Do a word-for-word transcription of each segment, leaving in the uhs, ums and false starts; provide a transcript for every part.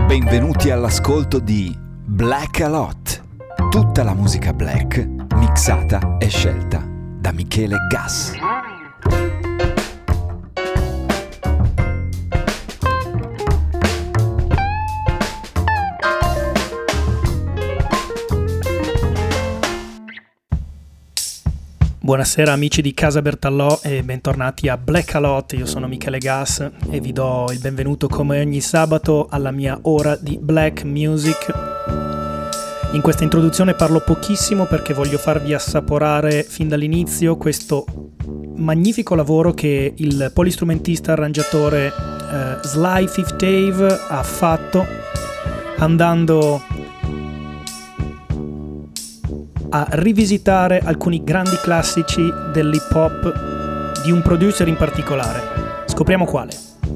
Benvenuti all'ascolto di Black a Lot, tutta la musica black mixata e scelta da Michele Gas. Buonasera amici di Casa Bertallò e bentornati a Black a Lot. Io sono Michele Gas e vi do il benvenuto come ogni sabato alla mia ora di Black Music. In questa introduzione parlo pochissimo perché voglio farvi assaporare fin dall'inizio questo magnifico lavoro che il polistrumentista arrangiatore eh, Sly Fifth Ave ha fatto, andando a rivisitare alcuni grandi classici dell'hip hop di un producer in particolare. Scopriamo quale.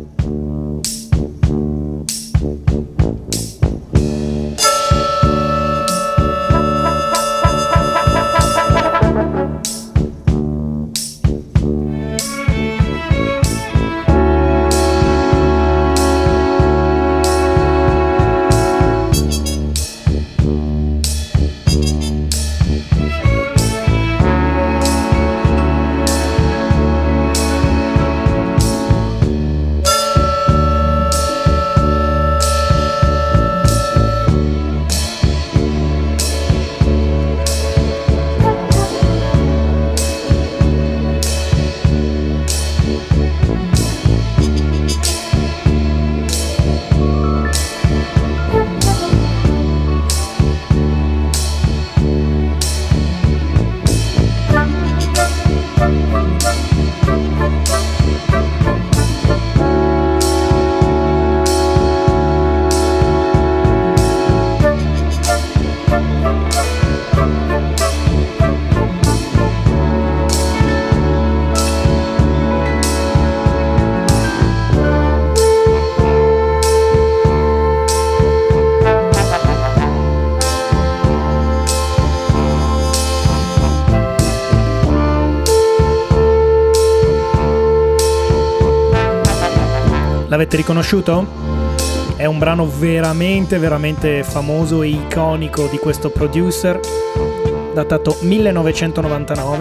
L'avete riconosciuto? È un brano veramente veramente famoso e iconico di questo producer, datato millenovecentonovantanove.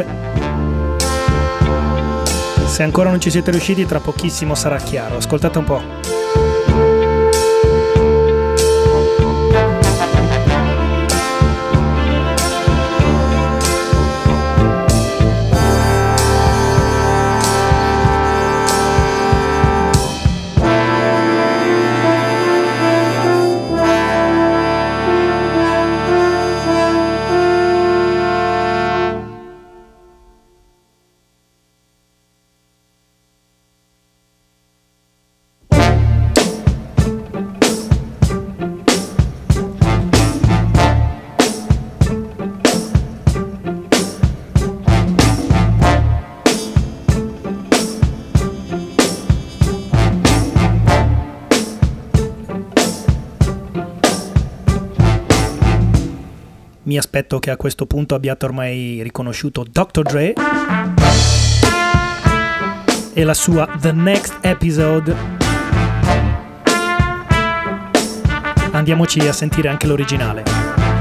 Se ancora non ci siete riusciti, tra pochissimo sarà chiaro. Ascoltate un po'. Mi aspetto che a questo punto abbiate ormai riconosciuto doctor Dre e la sua The Next Episode. Andiamoci a sentire anche l'originale.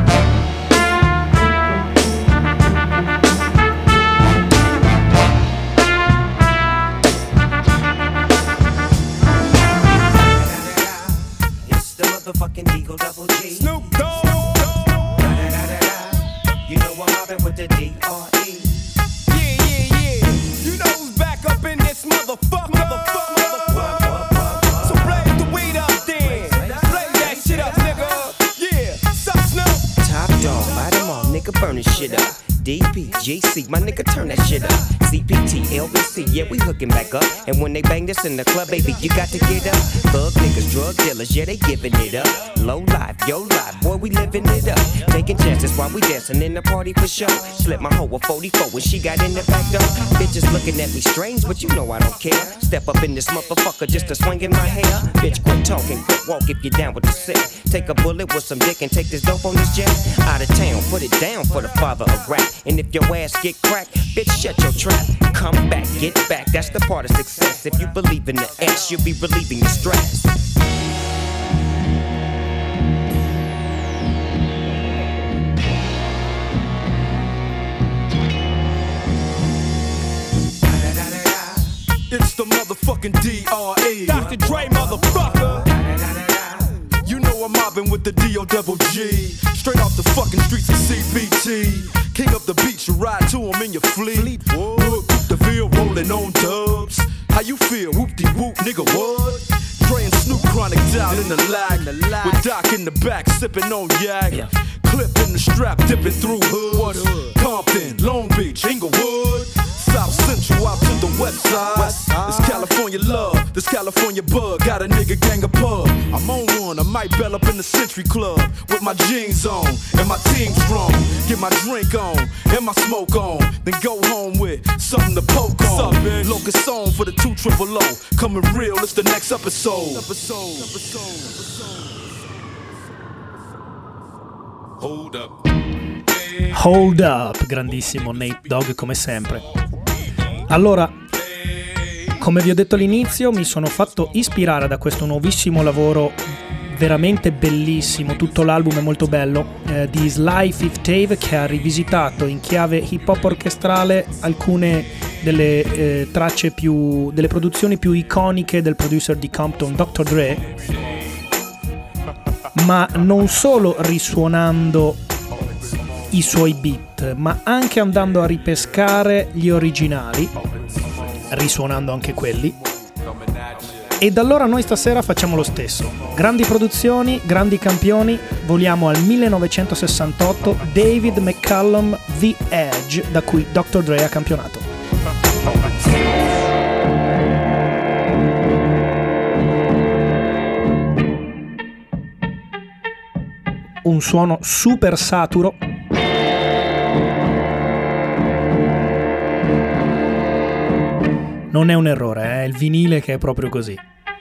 With the D R E. Yeah, yeah, yeah. You know who's back up in this motherfucker. Motherfucker, motherfucker. So blaze the weed up then. Blaze that shit up, nigga. Yeah, sup, Snoop? Top dog, light them all, nigga, burn this shit up. D P, G C, my nigga, turn that shit up. C P T, L B C, yeah, we hooking back up. And when they bang this in the club, baby, you got to get up. Thug niggas, drug dealers, yeah, they giving it up. Low life, yo life, boy, we living it up. Taking chances while we dancing in the party for sure. Slip my hoe a forty-four when she got in the back door. Bitches looking at me strange, but you know I don't care. Step up in this motherfucker just to swing in my hair. Bitch, quit talking, quit walk if you're down with the sick. Take a bullet with some dick and take this dope on this jet. Out of town, put it down for the father of rap. And if your ass get cracked, bitch, shut your trap. Come back, get back, that's the part of success. If you believe in the ass, you'll be relieving the stress. Mister Motherfucking D R E, Doctor Dre, motherfucker. You know I'm mobbing with the D O double G, straight off the fucking streets of C B T. King up the beach, you ride to him in your fleet. Whoop, the field rolling on dubs. How you feel? Whoop-de-whoop, nigga, what? Dre and Snoop Chronic down in the lag, with Doc in the back sipping on yak. Yeah. Clip in the strap, dipping through hoods. Compton, Long Beach, Inglewood, South Central out to the west side. West side. This California love, this California bug, got a nigga gang of pub. I'm on one, I might bell up in the Century Club with my jeans on and my team strong. Get my drink on and my smoke on, then go home with something to poke on. What's up, Locust on for the two triple O. Coming real, it's the next episode. Episode. Episode. Hold up. Hold up, grandissimo Nate Dogg come sempre. Allora, come vi ho detto all'inizio, mi sono fatto ispirare da questo nuovissimo lavoro veramente bellissimo, tutto l'album è molto bello, eh, di Sly Fifth Ave, che ha rivisitato in chiave hip hop orchestrale alcune delle eh, tracce più, delle produzioni più iconiche del producer di Compton, doctor Dre, ma non solo risuonando i suoi beat, ma anche andando a ripescare gli originali, risuonando anche quelli. Ed allora noi stasera facciamo lo stesso. Grandi produzioni, grandi campioni, voliamo al millenovecentosessantotto, David McCallum, The Edge, da cui doctor Dre ha campionato. Un suono super saturo. Non è un errore, è il vinile che è proprio così.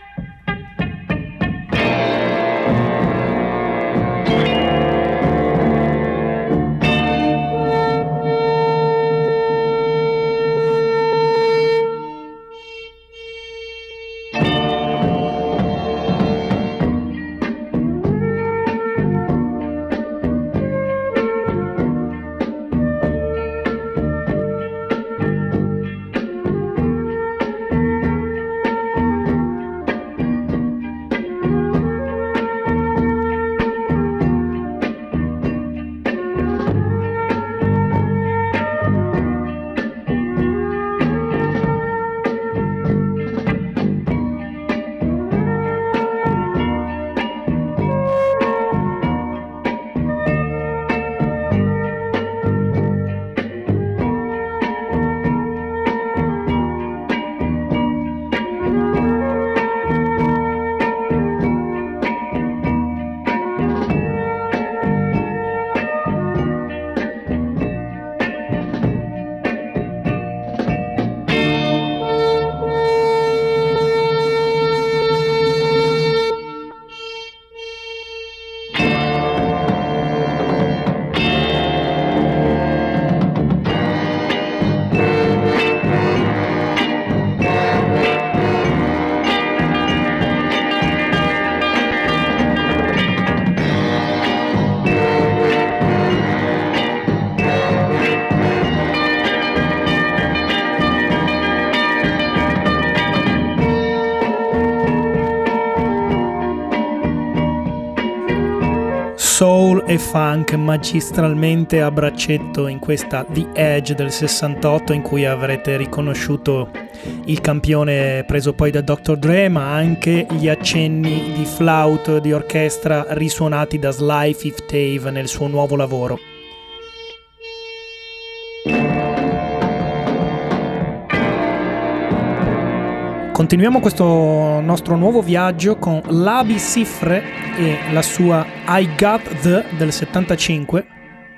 Soul e funk magistralmente a braccetto in questa The Edge del sessantotto, in cui avrete riconosciuto il campione preso poi da doctor Dre, ma anche gli accenni di flauto di orchestra risuonati da Sly Fifth Ave nel suo nuovo lavoro. Continuiamo questo nostro nuovo viaggio con Labi Siffre e la sua I Got The del settantacinque.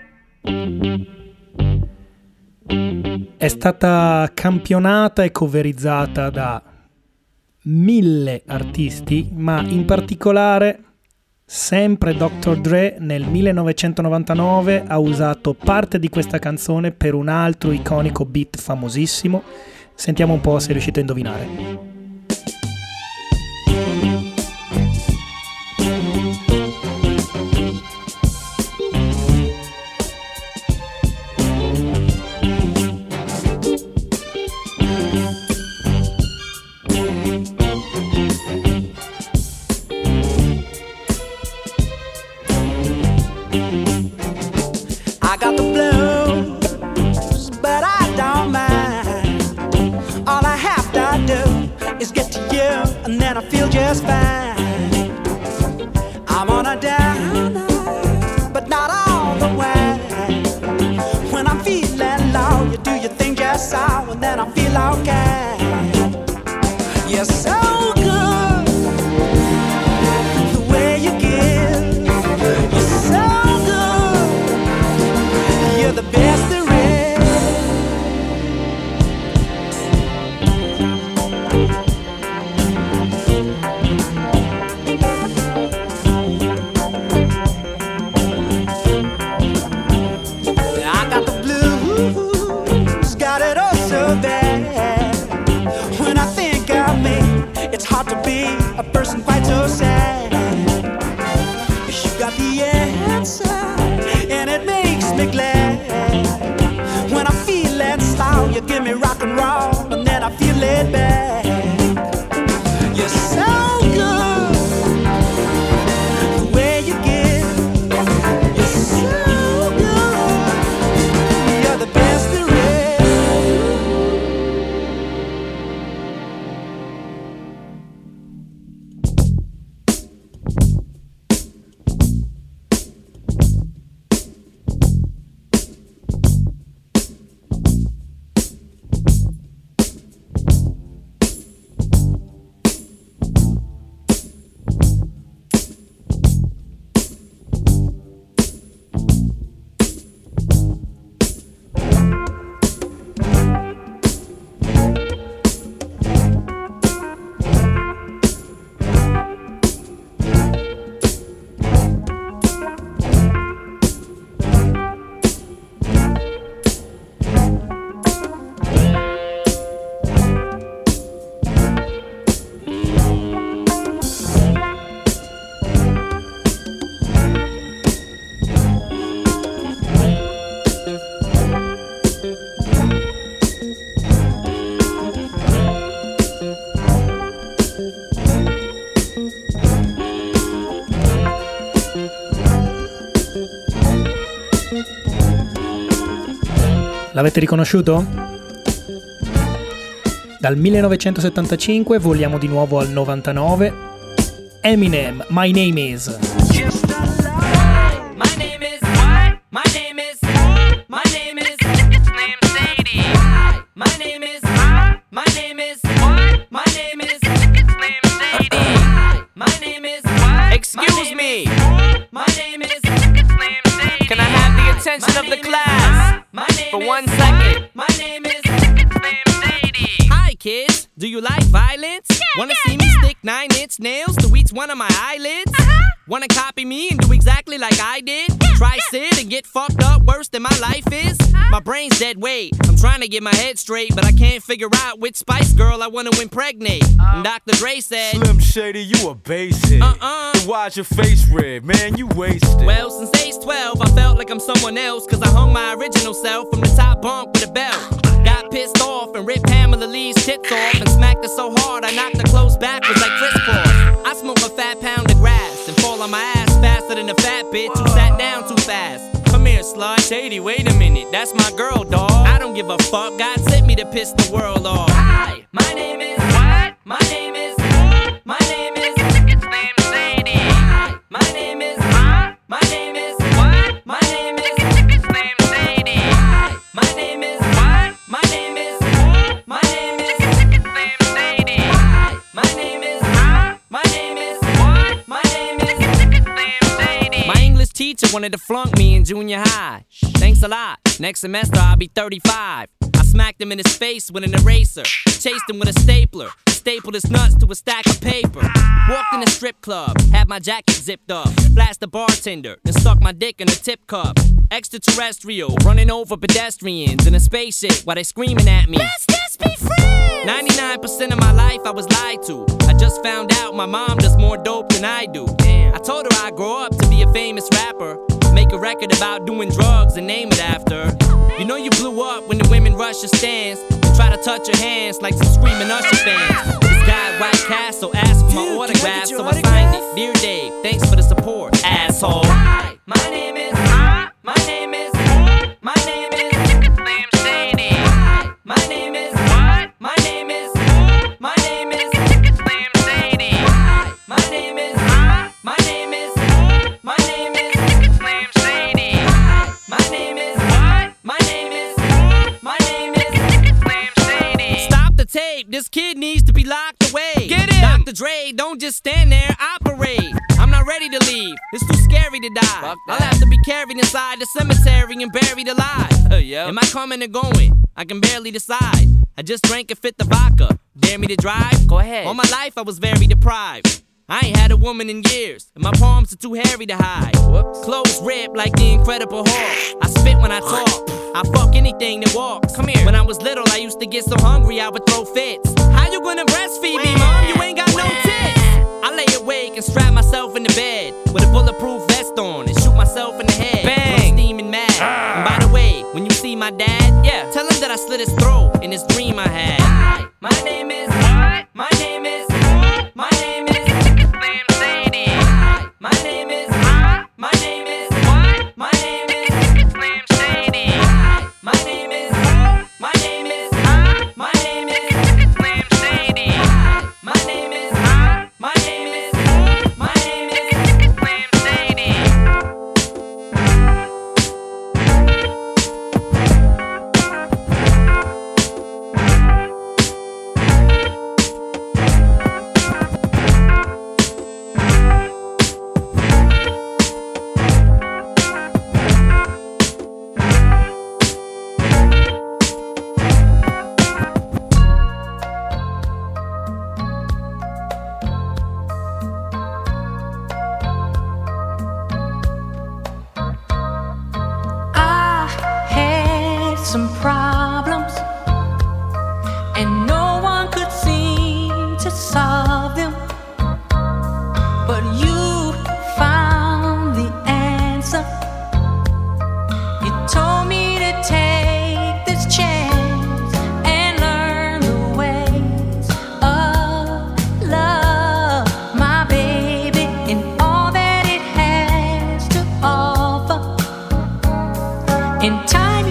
È stata campionata e coverizzata da mille artisti, ma in particolare sempre doctor Dre nel millenovecentonovantanove ha usato parte di questa canzone per un altro iconico beat famosissimo. Sentiamo un po' se riuscite a indovinare. I'm on a down, but not all the way. When I'm feeling low, you do your thing just so, and then I feel okay. You're so good, the way you give. You're so good, you're the best there is. It's hard to be a person quite so sad. You got the answer, and it makes me glad. When I'm feeling slow, you give me rock and roll, and then I feel it back. You're so good, the way you give. You're so good, you're the best there is. L'avete riconosciuto? Dal millenovecentosettantacinque voliamo di nuovo al novantanove. Eminem, My Name Is. My name is what? My name is my name is it's named Sadie. My name is my name is what? My name is it's named Sadie. My name is what? Excuse me. My name is it's named Sadie. Can I have the attention of the class for one second? My name is it's named Sadie. Hi kids, do you like violence? Yeah, Wanna yeah, see me yeah. stick nine inch nails to each one of my eyelids? Uh-huh. Wanna copy me and do exactly like I did? Yeah, Try yeah. sit and get fucked up worse than my life is? Uh-huh. My brain's dead weight. I'm trying to get my head straight, but I can't figure out which Spice Girl I wanna impregnate. Uh, and Doctor Dre said, Slim Shady, you a basic. Uh-uh. So why's your face red? Man, you wasted. Well, since age twelve, I felt like I'm someone else, cause I hung my original self from the top bunk with a belt. Got pissed off and ripped Pamela Lee's tits off and smacked her so hard I knocked her clothes backwards like Chris Cross. I smoke a fat pound of grass and fall on my ass faster than a fat bitch who sat down too fast. Come here, slut. Shady, wait a minute, that's my girl, dawg. I don't give a fuck, God sent me to piss the world off. Hi, my name is what? My name is my name is it's named Sadie. Hi, my name is my name is what? My name is it's named Sadie. Hi, my name is what? My name is my name is it's named Sadie. Hi, my name is my name is what? My name is it's named Sadie. My English teacher wanted to flunk me in junior high. Thanks a lot. Next semester I'll be thirty-five. I smacked him in his face with an eraser. Chased him with a stapler. Stapled his nuts to a stack of paper. Walked in a strip club, had my jacket zipped up. Flashed the bartender, then stuck my dick in a tip cup. Extraterrestrial, running over pedestrians in a spaceship while they screaming at me. Let's just be friends! ninety-nine percent of my life I was lied to. I just found out my mom does more dope than I do. Damn. I told her I'd grow up to be a famous rapper. Make a record about doing drugs and name it after. You know you blew up when the women rush your stands and try to touch your hands like some screaming Usher fans. This guy at White Castle asked for my Dude, autograph, so I autograph? signed it. Dear Dave, thanks for the support, asshole. Hi, my name is my name is my name is it's named Sadie. Hi, my name is what? My name is my name is it's named Sadie. Hi, my name is don't just stand there, operate. I'm not ready to leave, it's too scary to die. I'll have to be carried inside the cemetery and buried alive. Uh, yeah. Am I coming or going? I can barely decide. I just drank and fit the vodka. Dare me to drive? Go ahead. All my life I was very deprived. I ain't had a woman in years, and my palms are too hairy to hide. Whoops. Clothes ripped like the Incredible Hulk. I spit when I talk, I fuck anything that walks. Come here. When I was little, I used to get so hungry I would throw fits. How you gonna breastfeed me, mom? You ain't got no tits. I lay awake and strap myself in the bed with a bulletproof vest on and shoot myself in the head. Bang! I'm steaming mad. Ah. And by the way, when you see my dad, yeah, tell him that I slit his throat in this dream I had. Hi, my name is. What? My name is. My name is. My name is, my name is, what? My name is Slim Shady. My name is, my name is, my name is Slim Shady. My name is, my name is, my name is Slim Shady. Some problems, and no one could seem to solve them. But you found the answer. You told me to take this chance and learn the ways of love, my baby, and all that it has to offer. In time you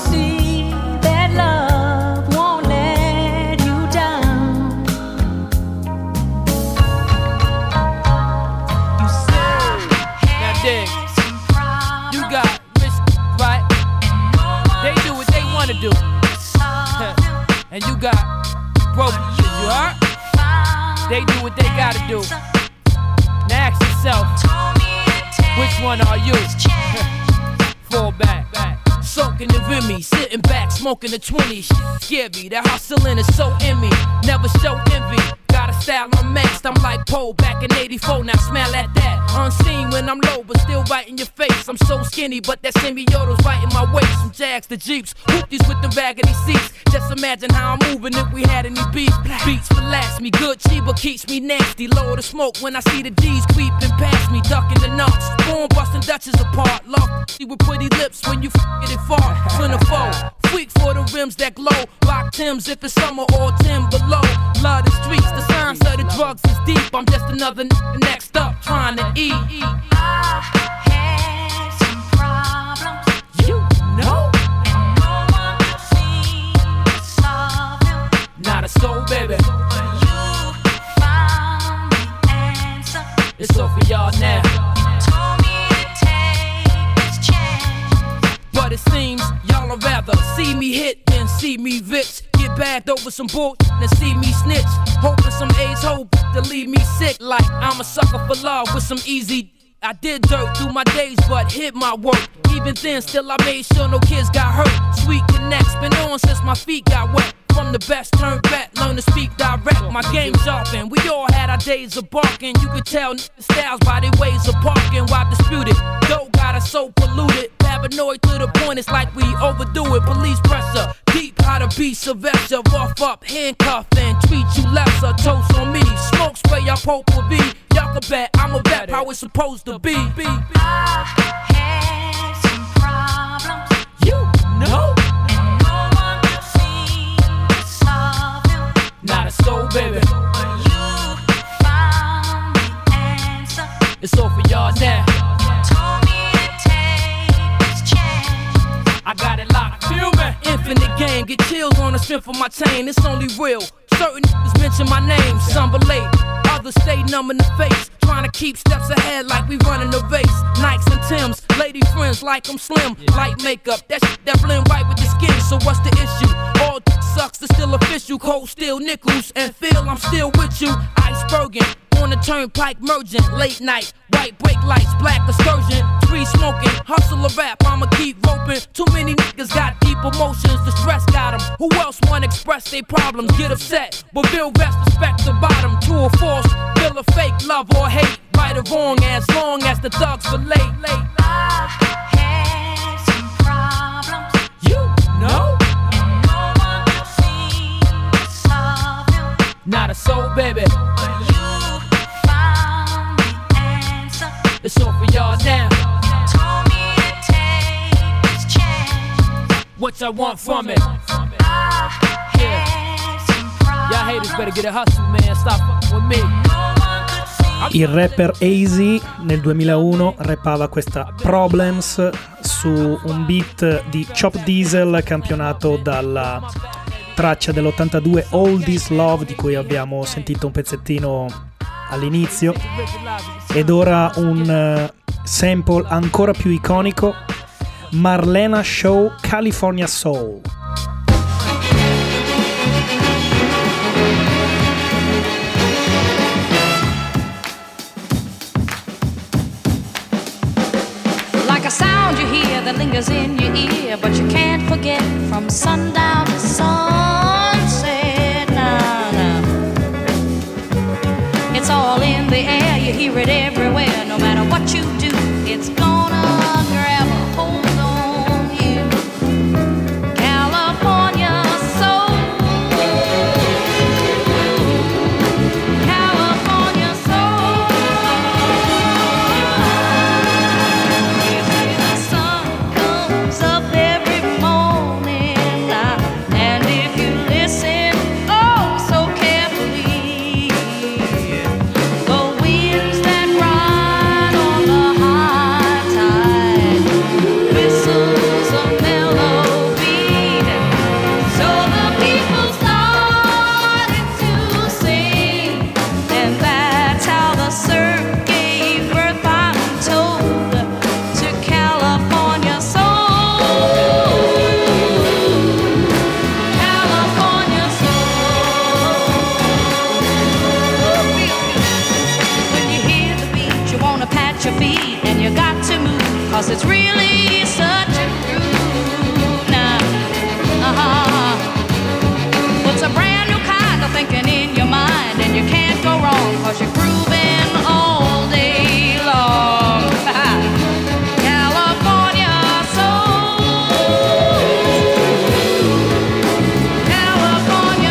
do. And you got broke, you heard? They do what they gotta do. Now ask yourself, which one are you? Fall back, back. Soaking the Remy, sitting back, smoking the twenty. Scare me, that hustling is so in me. Never show envy. Got a style unmatched, I'm like Poe back in eighty-four, now smell at that. Unseen when I'm low, but still right in your face. I'm so skinny, but that semioto's right in my waist. From Jags to Jeeps, whoopties with the raggedy seats. Just imagine how I'm moving if we had any beef. Beats relax me, good Chiba keeps me nasty. Lower the smoke when I see the G's creeping past me. Ducking the nuts, born busting Dutches apart. Love with pretty lips when you f***ing it far. Twenty-four, freak for the rims that glow. Rock Timbs if it's summer or ten below. Love the streets, the signs of the drugs is deep. I'm just another n- next up trying to eat. I had some problems, you know, and no one could seem to solve them. Not a soul, baby. But you found the answer. It's all for y'all now. You told me to take this chance, but it seems y'all would rather see me hit than see me rich. Get bagged over some bull and see me snitch. Hoping some A's hope to leave me sick. Like I'm a sucker for love with some easy. I did dirt through my days, but hit my work. Even then, still I made sure no kids got hurt. Sweet connects, been on since my feet got wet. From the best, turn back, learn to speak direct. My game's sharpened, we all had our days of barking. You could tell n- styles by their ways of parking. While disputed, dough got us so polluted. Paranoid to the point, it's like we overdo it. Police pressure, deep how to be Sylvester. Rough up, handcuff, and treat you lesser. Toast on me, smoke spray, y'all poke will be. Y'all can bet I'm a rap how it's supposed to be. I had some problems, you know, and no one could seem to solve them. Not a soul, baby. But you found the answer. It's all for y'all now. You told me to take this chance. I got it locked, feel me? Infinite game, get chills on the strength of my chain. It's only real. Certain niggas mention my name, some relate. Others stay numb in the face, trying to keep steps ahead like we running a race. Nikes and Timbs, lady friends like I'm slim. Light makeup, that shit that blend right with the skin. So what's the issue? All sucks, it's still official. Cold steel nickels and feel I'm still with you. Iceberging, on the turnpike merging, late night, white brake lights, black excursion, tree smoking, hustle a rap, I'ma keep roping. Too many niggas got deep emotions, the stress got them. Who else wanna express their problems, get upset, but feel rest, respect the bottom. True or false, feel a fake, love or hate, right or wrong, as long as the thugs relate. Late. I had some problems, You know, and no one could seem to solve them. not a soul, baby. But you found the answer. It's all for y'all now. Told me to take this chance. What y'all want from it? I had some problems. Y'all haters better get a hustle, man. Stop fucking with me. No one could see. Il rapper Easy nel duemilauno rappava questa Problems su un beat di Chop Diesel campionato dalla traccia dell'ottantadue All This Love, di cui abbiamo sentito un pezzettino all'inizio, ed ora un eh, sample ancora più iconico, Marlena Shaw California Soul. Like a sound you hear that lingers in your ear, but you can't forget from sundown to sunset. Nah, nah. It's all in the air, you hear it everywhere. No matter what you do, it's gonna grab a hold on you. California soul, California soul. You see the sun comes up every morning, uh, and if you listen, oh so carefully, the winds that ride on the high tide whistles a mellow beat. So the people started to sing, and that's how the surf gave birth, I'm told, to California soul. California soul. When you hear the beat, you wanna pat your feet, and you got to move, cause it's really such a groove now. Uh-huh. Puts a brand new kind of thinking in your mind, and you can't go wrong, cause you're grooving all day long. California soul, California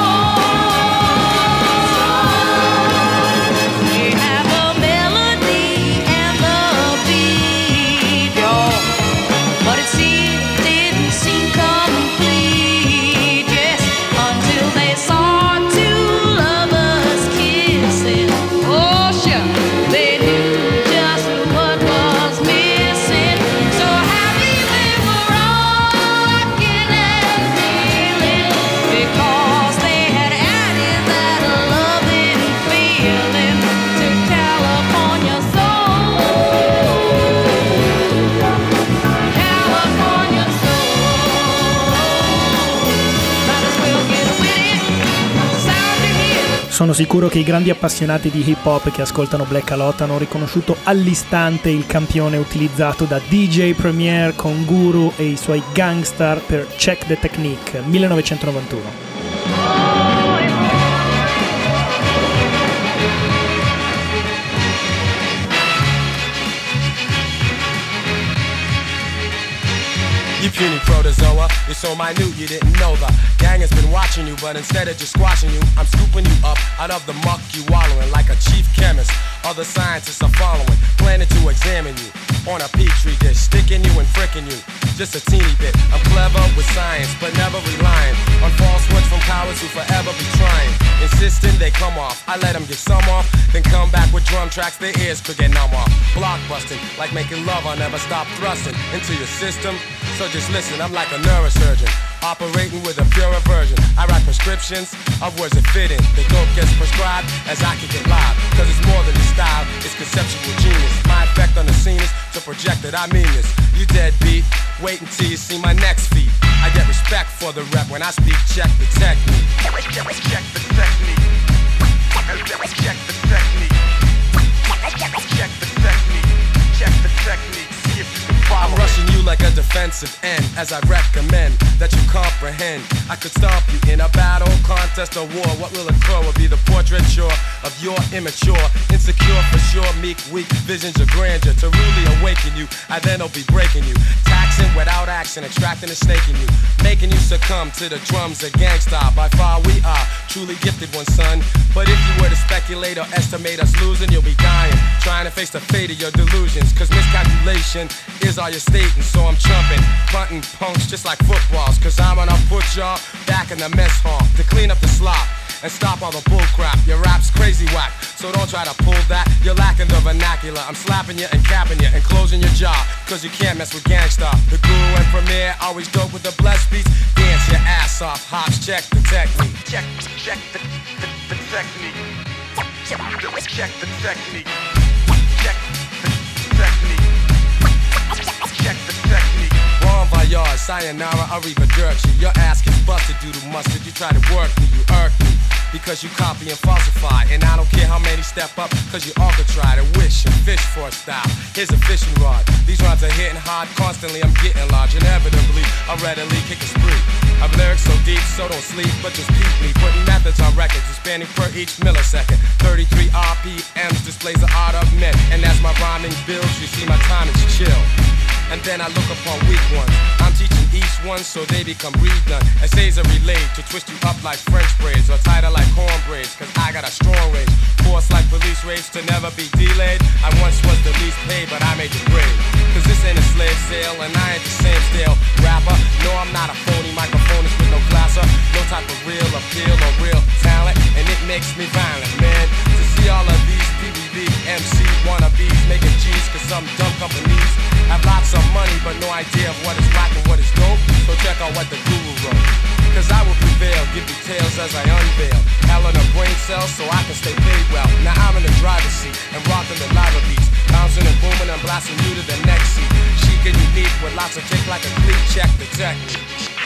soul. We have a melody and the beat, y'all, but it seemed didn't seem complete, yes, until they saw two lovers kissing. Oh, sure, they knew just what was missing. So happy they were rocking and feeling, because they had added that loving feeling to California soul. California soul. Might as well get with it. Sound to hear. Sono sicuro che i grandi appassionati di hip hop che ascoltano Black Alot hanno riconosciuto all'istante il campione utilizzato da D J Premier con Guru e i suoi Gangstar per Check the Technique millenovecentonovantuno. You puny protozoa, you're so minute you didn't know the gang has been watching you, but instead of just squashing you, I'm scooping you up out of the muck you wallowing like a chief chemist. Other scientists are following, planning to examine you on a petri dish, sticking you and fricking you just a teeny bit. I'm clever with science, but never relying on falsehoods from cowards who forever be trying, insisting they come off. I let them get some off, then come back with drum tracks their ears could get numb off. Blockbusting, like making love, I'll never stop thrusting into your system. So just listen, I'm like a neurosurgeon, operating with a pure aversion. I write prescriptions of words that fit in. The dope gets prescribed as I kick it live, cause it's more than a style, it's conceptual genius. My effect on the scene is to project that I mean this. You deadbeat, wait until you see my next feat. I get respect for the rep when I speak, check the technique. Check the technique. Check the technique. offensive end, as I recommend that you comprehend. I could stomp you in a battle, contest, or war. What will occur will be the portraiture of your immature, insecure for sure, meek, weak visions of grandeur. To really awaken you, I then will be breaking you, taxing without action, extracting and snaking you, making you succumb to the drums of gangsta. By far we are truly gifted one, son. But if you were to speculate or estimate us losing, you'll be dying, trying to face the fate of your delusions. Cause miscalculation is all you're stating. So I'm chumping, bunting punks just like footballs. Cause I'm gonna put y'all back in the mess hall to clean up the slop and stop all the bullcrap. Your rap's crazy whack, so don't try to pull that. You're lacking the vernacular. I'm slapping you and capping you and closing your jaw, cause you can't mess with gangsta. The guru and premier always dope with the blessed beats. Dance your ass off, hops, check the technique. Check, check the, the, the technique. Check the technique. Check the technique. Check the technique. Bon voyage, sayonara, arrivederci. Your ass gets busted due to mustard. You try to work me, you irk me, because you copy and falsify. And I don't care how many step up, cause you all could try to wish and fish for a style. Here's a fishing rod. These rods are hitting hard constantly. I'm getting large. Inevitably, I readily kick a spree. I've lyrics so deep, so don't sleep, but just peep me. Putting methods on records, expanding per each millisecond. thirty-three R P Ms displays the art of men. And as my rhyming builds, you see my time is chill. And then I look upon weak ones. I'm teaching each one so they become redone. Essays are relayed to twist you up like French braids or tighter like corn braids. Cause I got a strong rage, force like police raids to never be delayed. I once was the least paid, but I made the grade. Cause this ain't a slave sale and I ain't the same style rapper. No, I'm not a phony microphonist with no classer. No type of real appeal or real talent. And it makes me violent, man, to see all of these P B B M C wannabes making G's. Cause some dumb companies have lots of money but no idea of what is rock and what is dope. So check out what the guru wrote. Cause I will prevail, give details as I unveil. Hell in a brain cell so I can stay paid well. Now I'm in the driver's seat and rocking the lava beats, bouncing and booming and blasting you to the next seat. Chic and unique with lots of kick like a cleat. Check the technique.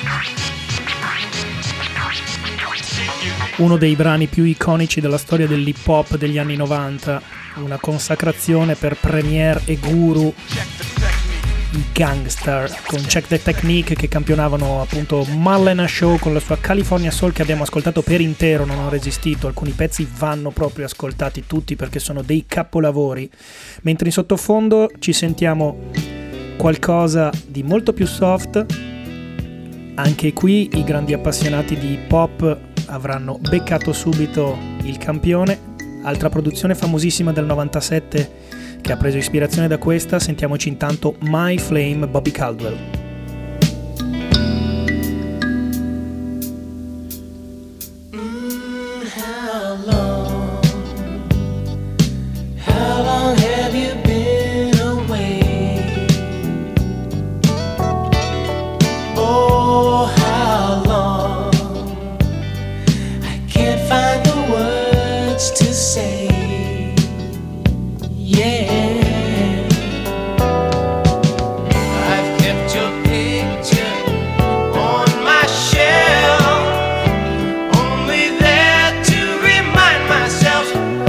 Uno dei brani più iconici della storia dell'hip hop degli anni novanta, una consacrazione per Premier e Guru, i Gangstar, con Check the Technique, che campionavano appunto Marlena Shaw con la sua California Soul, che abbiamo ascoltato per intero, non ho resistito. Alcuni pezzi vanno proprio ascoltati tutti perché sono dei capolavori, mentre in sottofondo ci sentiamo qualcosa di molto più soft. Anche qui i grandi appassionati di hip hop avranno beccato subito il campione. Altra produzione famosissima del novantasette che ha preso ispirazione da questa. Sentiamoci intanto My Flame, Bobby Caldwell. Mm, how long, how long have you been away? Oh, how long, I can't find the words to say. Yeah, I've kept your picture on my shelf, only there to remind myself.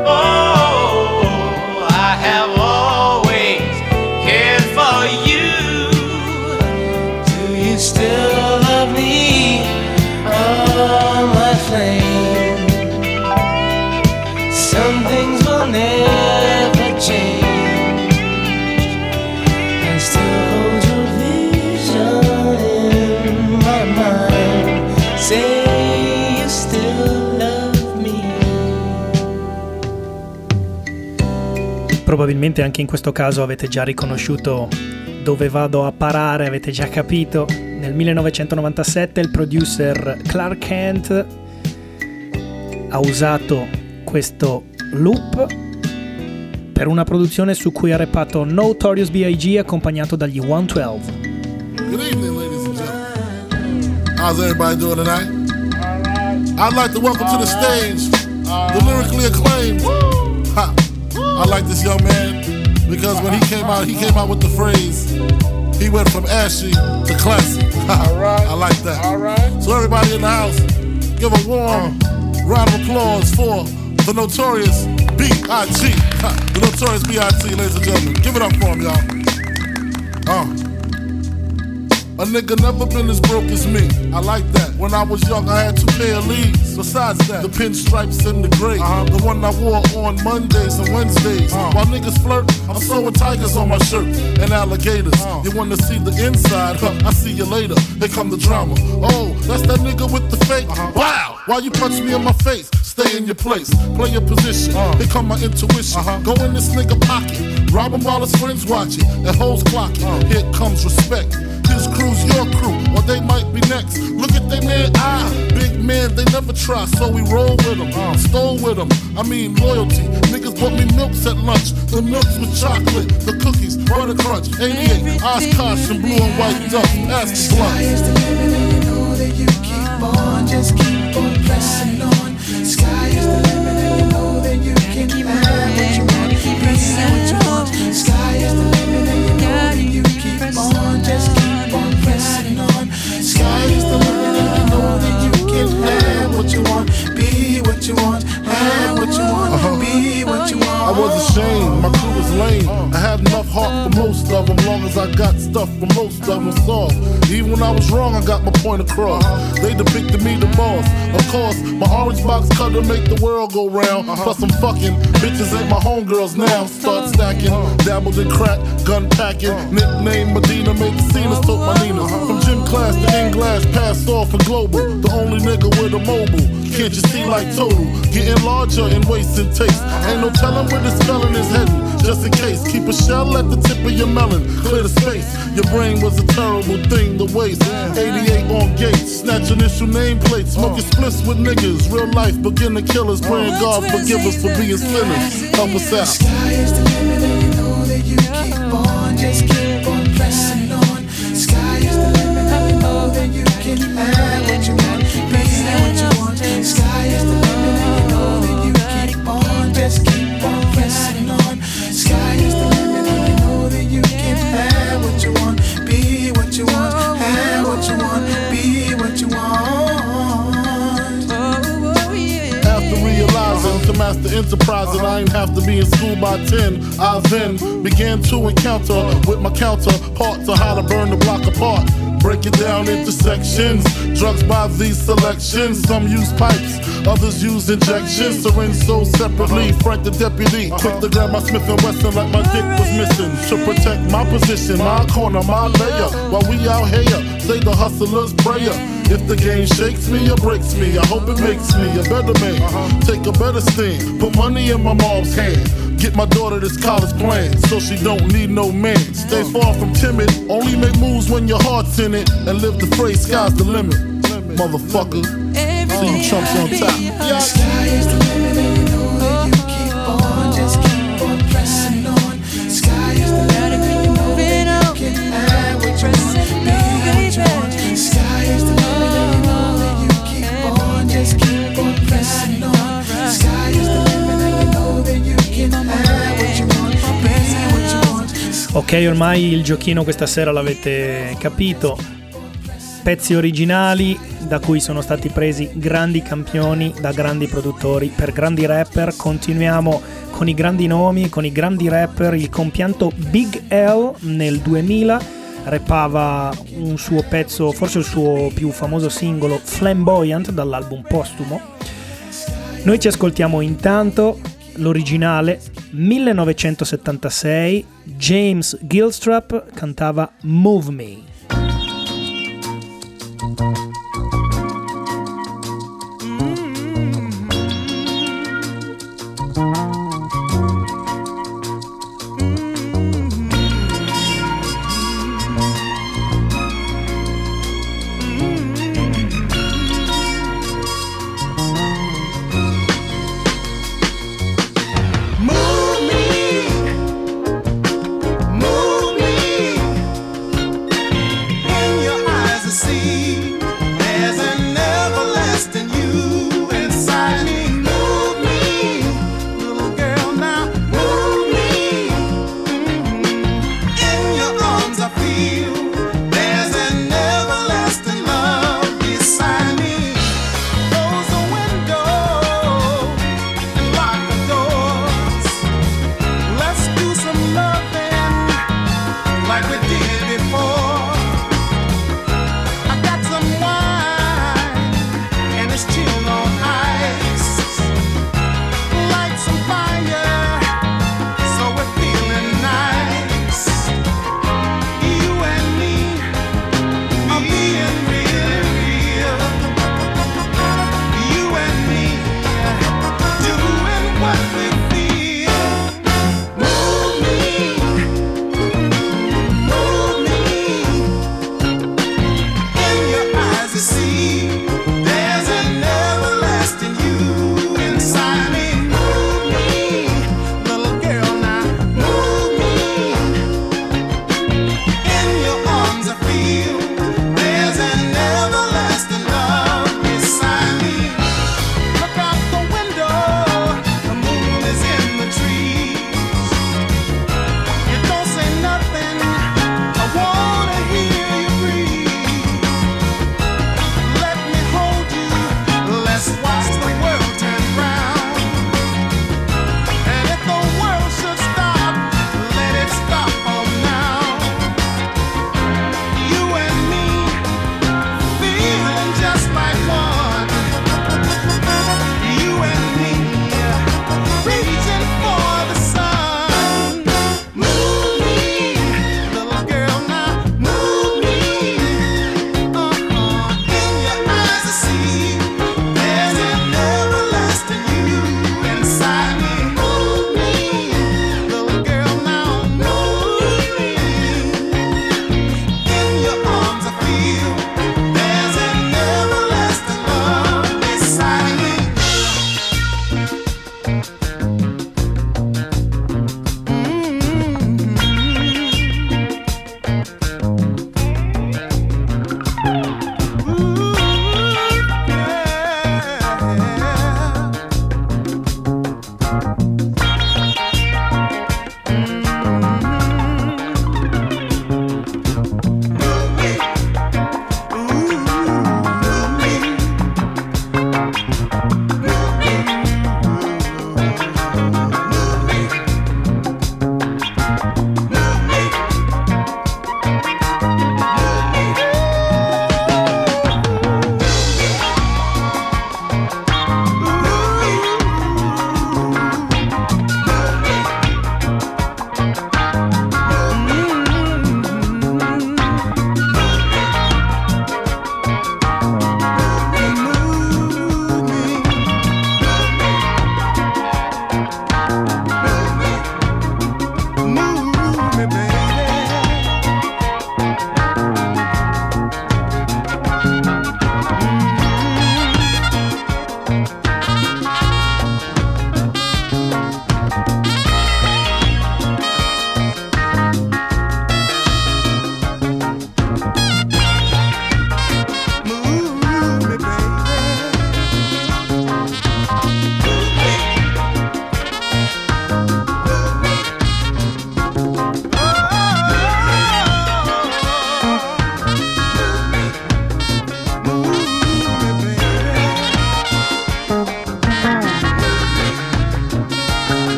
Oh, I have always cared for you. Do you still love me? Oh, my flame. Some things will never change. I still hold your vision in my mind. Say you still love me. Probabilmente anche in questo caso avete già riconosciuto dove vado a parare, avete già capito. Nel millenovecentonovantasette il producer Clark Kent ha usato questo loop per una produzione su cui ha rappato Notorious B I G accompagnato dagli one twelve. Good evening, ladies and gentlemen. How's everybody doing tonight? I'd like to welcome to the stage the lyrically acclaimed. Ha. I like this young man because when he came out, he came out with the phrase, he went from ashy to classy. I like that. All right. So everybody in the house, give a warm round of applause for the Notorious B I G The Notorious B I G, ladies and gentlemen. Give it up for him, y'all. Oh. A nigga never been as broke as me. I like that. When I was young, I had two pair of leaves. Besides that, the pinstripes and the gray. Uh-huh. The one I wore on Mondays and Wednesdays. Uh-huh. While niggas flirt, I'm sewing tigers on my shirt and alligators. Uh-huh. You wanna see the inside? Huh, I see you later. Here come the drama. Oh, that's that nigga with the fake. Uh-huh. Wow! Why you punch me in my face? Stay in your place. Play your position. Uh-huh. Here come my intuition. Uh-huh. Go in this nigga pocket. Rob him while his friends watching. And hoes clocking. Uh-huh. Here comes respect. His crew's your crew, or they might be next. Look at they man, ah, big man, they never try, so we roll with them, uh, stole with them. I mean loyalty. Niggas bought me milks at lunch. The milks with chocolate, the cookies, butter crunch, eighty-eight, Oshkosh and blue and white duck. Pass the blunt. Sky is the limit, and you know that you keep on, just keep on pressing on. Sky is the limit, and you know that you can have what you want, be what you want. Sky is the limit, and you know that you keep on, just keep on pressing on. Sky is the limit, and you know that you can have what you want, be what you want, have what you want, uh-huh. be what you want. I was ashamed, my crew was lame. I had enough heart for most of them, long as I got stuff for most of them soft. Even when I was wrong, I got my point across. They depicted me the boss. Of course, my orange box cutter make the world go round. Plus I'm fucking bitches ain't my homegirls now. Start stacking, dabbled in crack, gun packing. Nickname Medina, made the scenes, took my Ninas. From gym class to in-glass, passed off for global. The only nigga with a mobile. Can't you see like total? Getting larger in waist and taste. Ain't no telling where this felon is heading. Just in case, keep a shell at the tip of your melon. Clear the space. Your brain was a terrible thing to waste. eighty-eight on gates, snatch initial nameplates. Smoking splits with niggas. Real life beginner killers. Praying God forgive us for being sinners. Help us out. Sky is the limit, and you know that you keep on, just keep on pressing on. Sky is the limit, and you know that you can have what you want, be what you want. Sky is the limit, and you know that you keep on, just keep on pressing on. Sky is the limit, and you know that you can have what you want, be what you want, have what you want, be what you want. After realizing to master enterprise and I ain't have to be in school by ten, I then began to encounter with my counterparts on how to burn the block apart. Break it down into sections. Drugs by these selections. Some use pipes, others use injections. Syringe sold separately. Frank the deputy, quick to grab my Smith and Wesson like my dick was missing. To protect my position, my corner, my layer. While we out here, say the hustler's prayer. If the game shakes me or breaks me, I hope it makes me a better man. Take a better stand, put money in my mom's hand. Get my daughter this college plan, so she don't need no man. Stay far from timid, only make moves when your heart's in it. And live the phrase, sky's the limit, motherfucker. See you chumps on top. Yeah. Sky is the limit, and you know that you keep on, just keep on pressing on. Sky is the limit, and you know that you can have what you want, be what you want. Sky is the limit, and you know that you keep on, just keep on pressing on. Sky is the limit, and you know that you can have what you want, be what you want. Ok, ormai il giochino questa sera l'avete capito. Pezzi originali da cui sono stati presi grandi campioni da grandi produttori per grandi rapper. Continuiamo con i grandi nomi, con i grandi rapper. Il compianto Big L nel duemila rappava un suo pezzo, forse il suo più famoso singolo, Flamboyant, dall'album postumo. Noi ci ascoltiamo intanto l'originale. millenovecentosettantasei, James Gilstrap cantava Move Me. See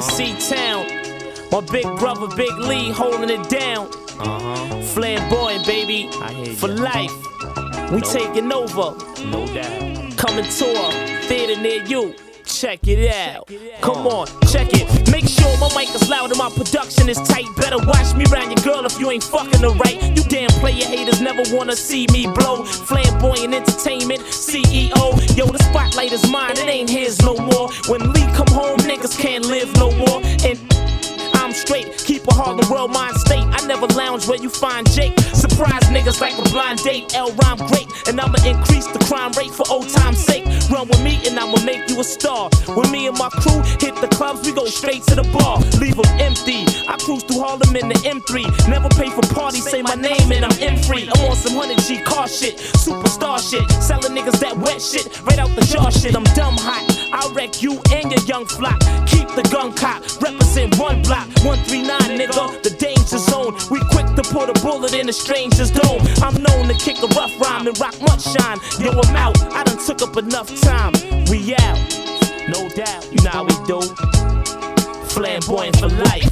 in C-Town. My big brother, Big Lee, holding it down. Uh-huh. Flamboyant, baby, I hear for ya. Life. We no. taking over. No doubt. Coming to a theater near you. Check it out. Come on, check it. Make sure my mic is loud and my production is tight. Better watch me round your girl if you ain't fucking her right. You damn player haters never wanna see me blow. Flamboyant entertainment, C E O. Yo, the spotlight is mine, it ain't his no more. When Lee come home, niggas can't live no more. And I'm straight, keep a Harlem World mind state. I never lounge where you find Jake. Surprise niggas like a blind date. L rhyme great, and I'ma increase the crime rate for old time's sake. Run with me and I'ma make you a star. When me and my crew hit the clubs, we go straight to the bar. Leave them empty. I cruise through Harlem in the M three. Never pay for parties, say my name and I'm M free. I'm on some one hundred G car shit, superstar shit. Selling niggas that wet shit, right out the jar shit. I'm dumb hot, I'll wreck you and your young flock. Keep the gun cop, represent one block. one three nine, nigga, the danger zone. We quick to put a bullet in a stranger's dome. I'm known to kick a rough rhyme and rock much shine. Yo, I'm out, I done took up enough time. We out, no doubt, you know how we do. Flamboyant for life.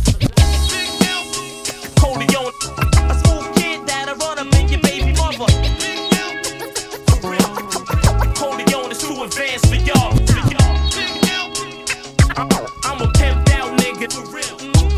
Coleon, a smooth kid that'll run up in your baby mother. Coleon is too advanced for y'all. I'm a pimped out nigga for real.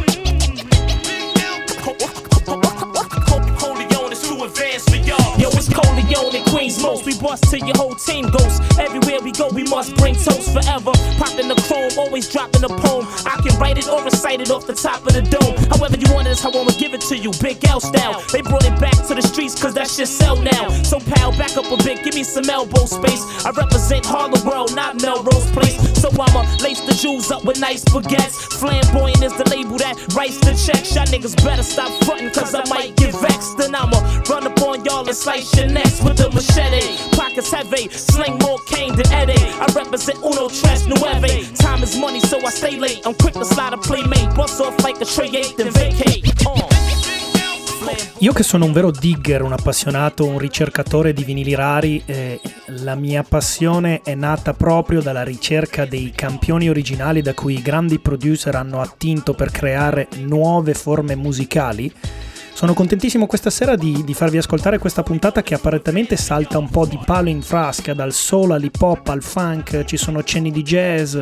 Coleon is too advanced for y'all. Yo, it's Coleon and Queens most. We bust till your whole team goes. Everywhere we go, we must bring toast forever. Popping the chrome, always dropping a poem. I can write it or recite it off the top of the dome. However you want it is how I'ma give it to you. Big L style. They brought it back to the streets cause that shit sell now. So pal, back up a bit, give me some elbow space. I represent Harlem World, not Melrose Place. So I'ma lace the jewels up with nice baguettes. Flamboyant is the label that writes the checks. Y'all niggas better stop frontin' cause I might get vexed. Then I'ma run up on y'all and slice your necks with the machete. Pockets heavy, sling more cane than Eddie. I represent Uno Tres Nueve. Time is money so I stay late. I'm quick to slide a playmate. Bust off like a tray eight then vacate. Uh. Io che sono un vero digger, un appassionato, un ricercatore di vinili rari, eh, la mia passione è nata proprio dalla ricerca dei campioni originali da cui i grandi producer hanno attinto per creare nuove forme musicali. Sono contentissimo questa sera di, di farvi ascoltare questa puntata che apparentemente salta un po' di palo in frasca, dal soul all'hip hop al funk, ci sono cenni di jazz.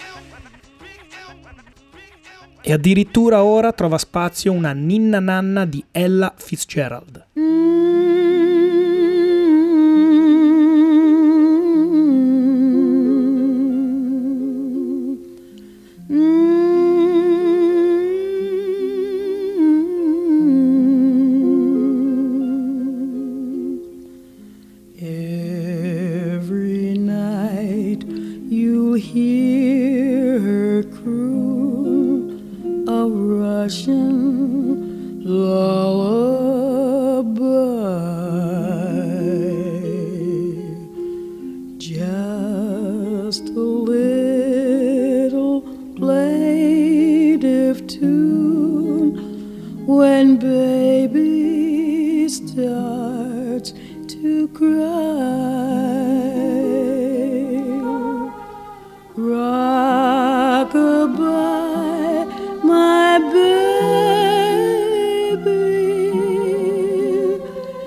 E addirittura ora trova spazio una ninna nanna di Ella Fitzgerald. Every night you hear her croon a Russian lullaby, just a little plaintive tune when baby starts to cry. Rock-a-bye, my baby,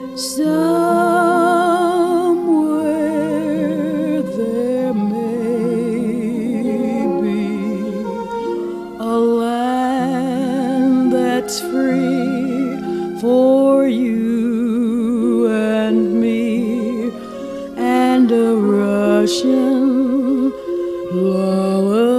somewhere there may be a land that's free for you and me, and a Russian lullaby.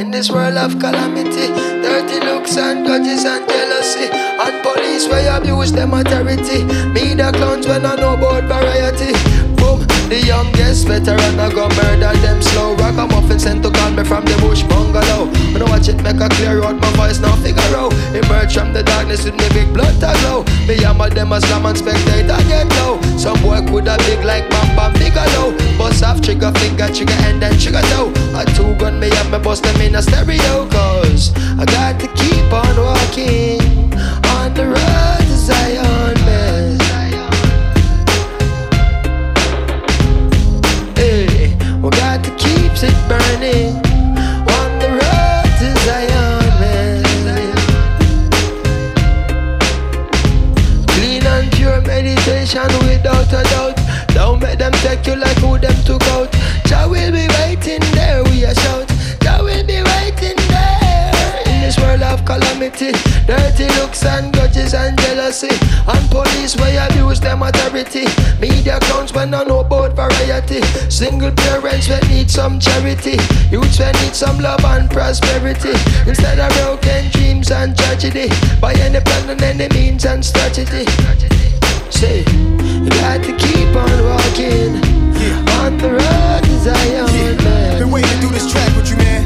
In this world of calamity, dirty looks and grudges and jealousy, and police where abuse them authority. Me the clowns when I know about variety. Boom, the youngest veteran I go murder them slow. Ragamuffin sent to call me from the bush bungalow. When I watch it make a clear out my voice now figure out. Emerge from the darkness with me big blood to glow. Me hammer them as slam and spectator get low. Some boy coulda big like Bam Bam Bigelow. Bust off trigger finger, trigger and then trigger toe. A two gun me have me bust them in a stereo. Cause I got to keep on walking on the road to Zion, man. Hey, we got to keep it burning on the road to Zion, man. Clean and pure meditation without a doubt. Don't make them take you like who them took out. Jah will be waiting there, we a shout. Jah will be waiting there. In this world of calamity, dirty looks and grudges and jealousy, and police where abuse them authority. Media clowns when I know about variety. Single parents when need some charity. Youths when need some love and prosperity. Instead of broken dreams and tragedy, by any plan and any means and strategy. Say, you got to keep on walking, yeah, on the road to Zion, yeah, man. Been waiting to do this track with you, man.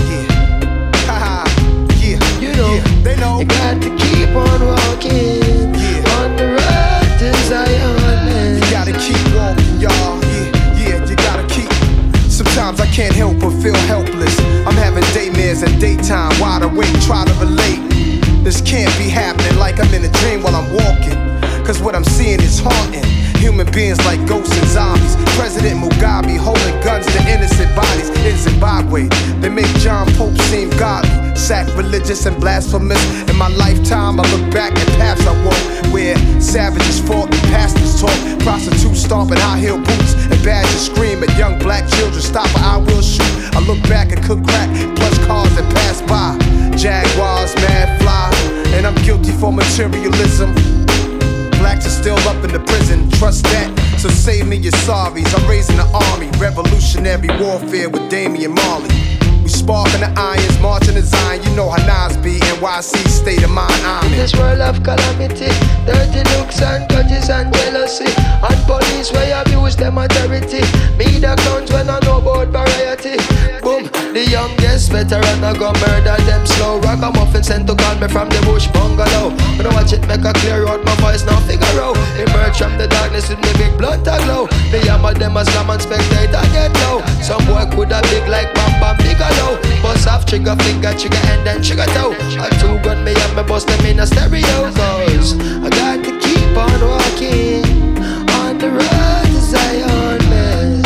Yeah, haha, yeah, you know, yeah, they know. You got to keep on walking, yeah, on the road to Zion, man. You gotta keep walking, y'all. Yeah, yeah, you gotta keep. Sometimes I can't help but feel helpless. I'm having daymares and daytime, wide awake, try to relate. This can't be happening like I'm in a dream while I'm walking. Cause what I'm seeing is haunting. Human beings like ghosts and zombies. President Mugabe holding guns to innocent bodies in Zimbabwe. They make John Pope seem godly, sacrilegious and blasphemous. In my lifetime I look back at paths I walk, where savages fought and pastors talk. Prostitutes stomping high heel boots and badgers scream at young black children. Stop or I will shoot. I look back and cook crack, plush cars that pass by. Jaguars, mad fly, and I'm guilty for materialism. Blacks are still up in the prison, trust that, so save me your sorries. I'm raising the army, revolutionary warfare with Damian Marley. We sparking the irons, marching the Zion. You know how Nas be, N Y C state of mind army. In this world of calamity, dirty looks and grudges and jealousy, and police where abuse them authority. Me the clowns when I know about variety. Boom, the youngest veteran I go murder them slow. Ragamuffin sent to call me from the bush bungalow. When I watch it make a clear out my voice now figure out. Emerge from the darkness with me big blood to glow. Me hammer them as slam and spectator get low. Some boy coulda big like Bam Bam Bigelow. Bust off trigger finger, trigger and then trigger toe. A two gun me have me bust them in a stereo. Cause I got to keep on walking on the road to Zion, man.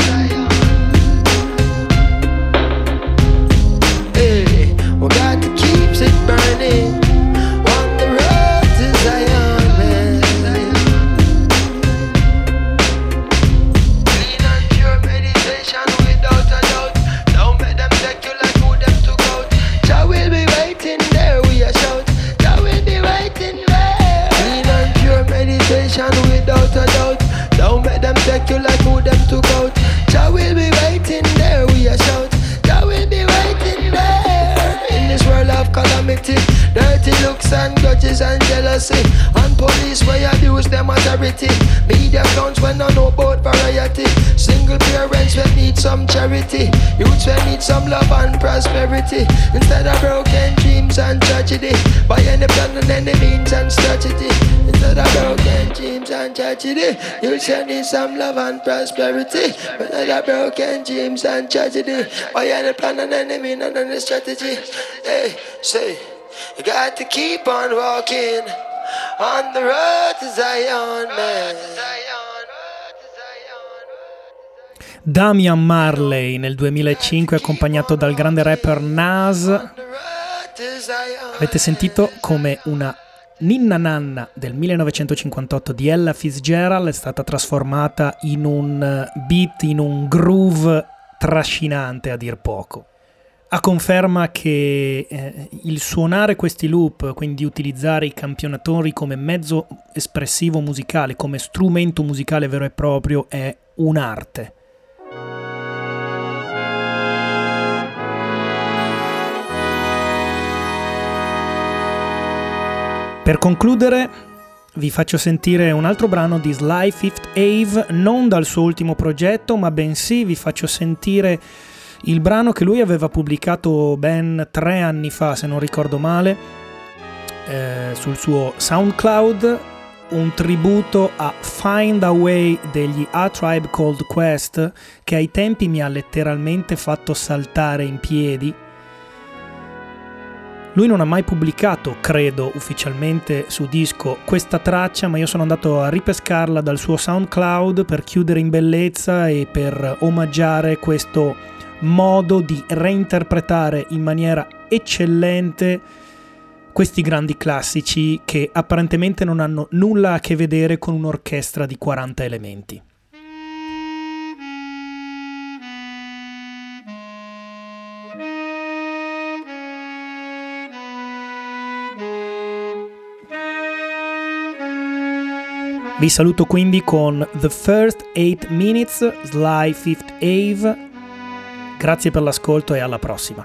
Hey, we got to keep it burning on the road to Zion, man. Clean and pure meditation without a doubt. Don't make them take you like who them took out. Jah will be waiting there, we a shout. Jah will be waiting there. Clean and pure meditation without a doubt. Don't make them take you like who them took out. Jah will be waiting there, we a shout. Jah will be waiting there. In this world of calamity, dirty looks and grudges and jealousy, and police where abuse them authority. Media clowns when I know about variety. Single parents when need some charity. Youths when need some love and prosperity. Instead of broken dreams and tragedy, by any plan and any means and strategy. Instead of broken dreams and tragedy, youths when need some love and prosperity. Instead of broken dreams and tragedy, by any plan and any means and any strategy. Hey, say, you got to keep on walking on the road to Zion, man. Damian Marley nel duemilacinque, accompagnato dal grande rapper Nas. Avete sentito come una Ninna Nanna del millenovecentocinquantotto di Ella Fitzgerald è stata trasformata in un beat, in un groove trascinante a dir poco. A conferma che eh, il suonare questi loop, quindi utilizzare i campionatori come mezzo espressivo musicale, come strumento musicale vero e proprio, è un'arte. Per concludere vi faccio sentire un altro brano di Sly Fifth Ave, non dal suo ultimo progetto, ma bensì vi faccio sentire il brano che lui aveva pubblicato ben tre anni fa, se non ricordo male, eh, sul suo SoundCloud, un tributo a Find a Way degli A Tribe Called Quest, che ai tempi mi ha letteralmente fatto saltare in piedi. Lui non ha mai pubblicato, credo, ufficialmente su disco questa traccia, ma io sono andato a ripescarla dal suo SoundCloud per chiudere in bellezza e per omaggiare questo modo di reinterpretare in maniera eccellente questi grandi classici che apparentemente non hanno nulla a che vedere con un'orchestra di quaranta elementi. Vi saluto quindi con The First Eight Minutes, Sly Fifth Ave. Grazie per l'ascolto e alla prossima.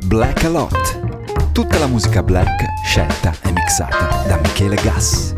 Black a Lot. Tutta la musica black scelta e mixata da Michele Gas.